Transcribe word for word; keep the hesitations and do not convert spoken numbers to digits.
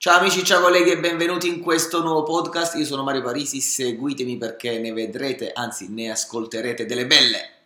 Ciao amici, ciao colleghi e benvenuti in questo nuovo podcast. Io sono Mario Parisi, seguitemi perché ne vedrete, anzi ne ascolterete delle belle.